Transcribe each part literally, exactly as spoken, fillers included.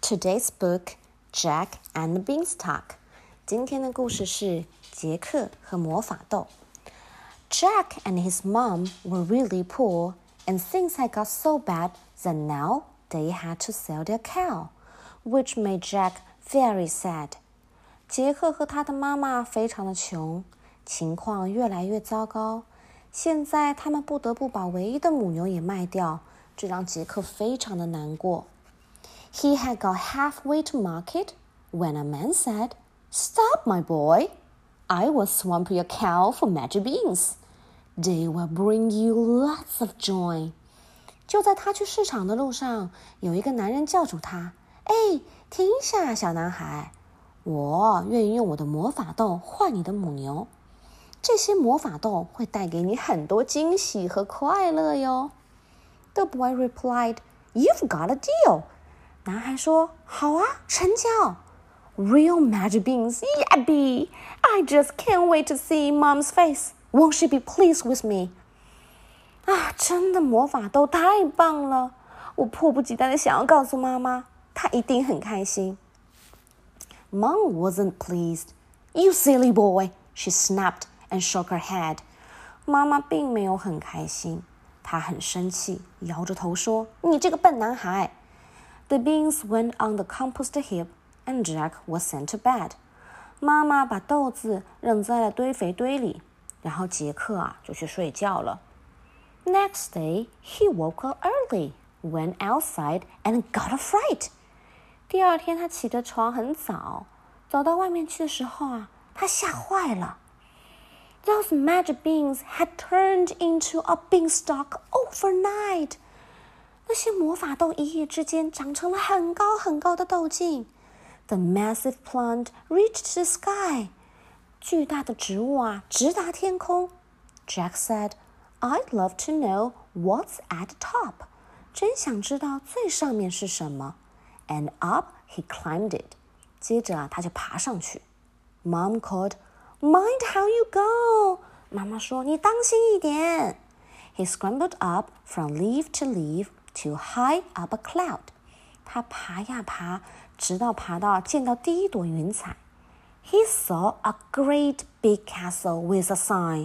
Today's book, Jack and the Beanstalk. 今天的故事是杰克和魔法豆。Jack and his mom were really poor, and things had got so bad that now they had to sell their cow, which made Jack very sad. 杰克和他的妈妈非常的穷，情况越来越糟糕。现在他们不得不把唯一的母牛也卖掉，这让杰克非常的难过。He had got halfway to market when a man said, "Stop, my boy. I will swamp your cow for magic beans. They will bring you lots of joy." 就在他去市场的路上，有一个男人叫住他：“哎，停一下，小男孩，我愿意用我的魔法豆换你的母牛。这些魔法豆会带给你很多惊喜和快乐哟。” The boy replied, "You've got a deal." 男孩说：“好啊，成交。Real magic beans, yappy! I just can't wait to see Mom's face. Won't she be pleased with me?" 啊，真的魔法豆太棒了！我迫不及待的想要告诉妈妈，她一定很开心。Mom wasn't pleased. "You silly boy!" she snapped and shook her head. 妈妈并没有很开心，她很生气，摇着头说：“你这个笨男孩。” The beans went on the compost heap, and Jack was sent to bed. 妈妈把豆子扔在了堆肥堆里，然后杰克啊就去睡觉了。Next day, he woke up early, went outside, and got a fright. 第二天他起的床很早，走到外面去的时候啊，他吓坏了。Those magic beans had turned into a beanstalk overnight. 那些魔法豆一夜之间长成了很高很高的豆茎。The massive plant reached the sky. 巨大的植物啊，直达天空。Jack said, "I'd love to know what's at the top." 真想知道最上面是什么。And up he climbed it. 接着啊，他就爬上去。Mom called, "Mind how you go." 妈妈说：“你当心一点。” He scrambled up from leaf to leaf to high up a cloud. 他爬呀爬，直到爬到见到第一朵云彩。He saw a great big castle with a sign,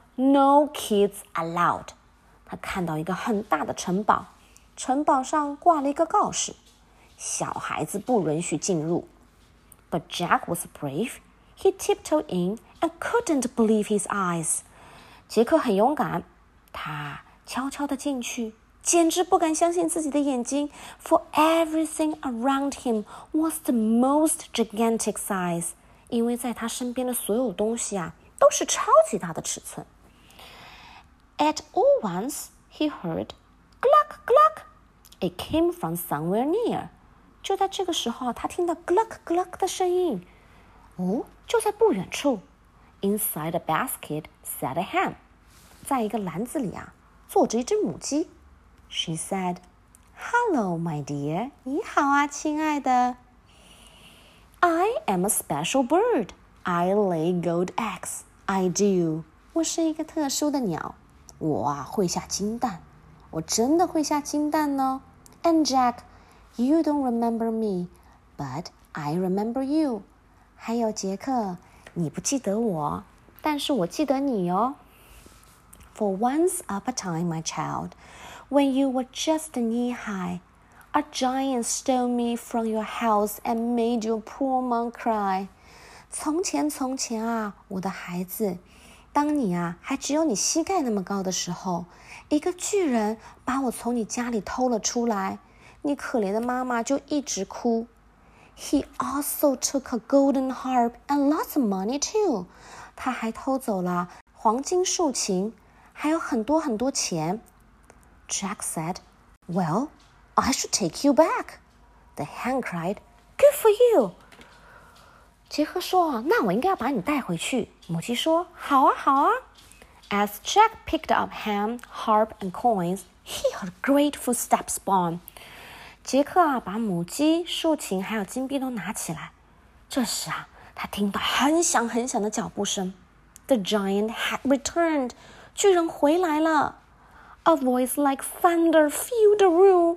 "No kids allowed." 他看到一个很大的城堡，城堡上挂了一个告示：小孩子不允许进入。But Jack was brave. He tiptoed in and couldn't believe his eyes. 杰克很勇敢，他悄悄地进去，简直不敢相信自己的眼睛 For everything around him was the most gigantic size. 因为在他身边的所有东西啊，都是超级大的尺寸。At all once, he heard "Gluck, gluck." It came from somewhere near. 就在这个时候，他听到 "gluck, gluck" 的声音。哦，就在不远处。Inside a basket sat a hen. 在一个篮子里啊，坐着一只母鸡。She said, "Hello, my dear." 你好啊，亲爱的。I am a special bird. I lay gold eggs. I do. 我是一个特殊的鸟，我啊会下金蛋，我真的会下金蛋呢。And Jack, you don't remember me, but I remember you. 还有杰克，你不记得我，但是我记得你哦。For once upon a time, my child, when you were just knee high, a giant stole me from your house and made your poor mom cry. 从前从前啊，我的孩子，当你啊还只有你膝盖那么高的时候，一个巨人把我从你家里偷了出来，你可怜的妈妈就一直哭。He also took a golden harp and lots of money too. 他还偷走了黄金竖琴，还有很多很多钱。Jack said, "Well, I should take you back." The hen cried, "Good for you." 杰克说：“那我应该要把你带回去。”母鸡说：“好啊，好啊。” As Jack picked up ham, harp, and coins, he heard great footsteps spawn. 杰克啊，把母鸡、竖琴还有金币都拿起来。这时啊，他听到很响很响的脚步声。The giant had returned. 巨人回来了。A voice like thunder filled the room.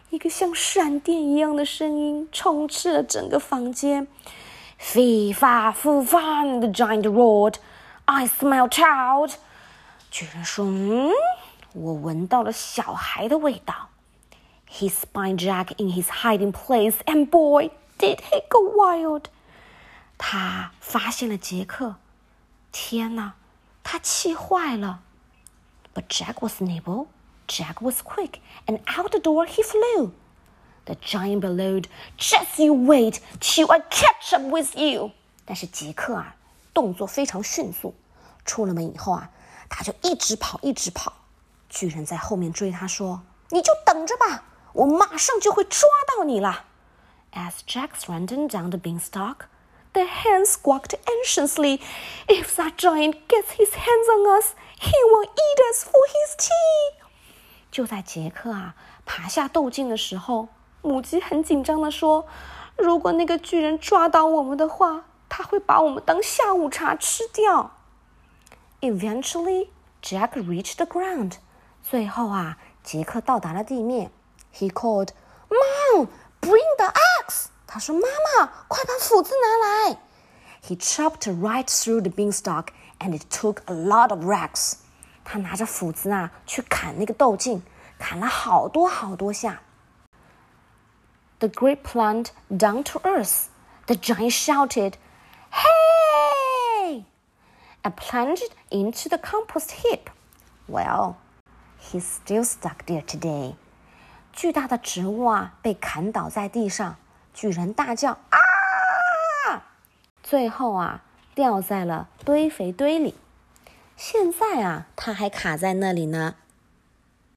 一个像闪电一样的声音充斥了整个房间。Fee fa foo fan, the giant roared. I smell child. 巨人说：“嗯，我闻到了小孩的味道。” He spied Jack in his hiding place, and boy, did he go wild. 他发现了杰克，天哪，他气坏了。But Jack was nimble, Jack was quick, and out the door he flew. The giant bellowed, "Just you wait till I catch up with you." 但是杰克啊，动作非常迅速，出了门以后啊，他就一直跑，一直跑。巨人在后面追他说：“你就等着吧，我马上就会抓到你了。” As Jack ran down the beanstalk, the hen squawked anxiously, "If that giant gets his hands on us, he will eat us for his tea." 就在杰克啊爬下豆茎的时候，母鸡很紧张地说：“如果那个巨人抓到我们的话，他会把我们当下午茶吃掉。” Eventually, Jack reached the ground. 最后啊，杰克到达了地面。He called, "Mom, bring the axe." 他说：“妈妈，快把斧子拿来。” He chopped right through the beanstalk, and it took a lot of whacks. 他拿着斧子啊，去砍那个豆茎，砍了好多好多下。The great plant down to earth. The giant shouted, "Hey!" and plunged into the compost heap. Well, he's still stuck there today. 巨大的植物啊，被砍倒在地上，巨人大叫啊！最后啊，掉在了堆肥堆里。现在啊，他还卡在那里呢。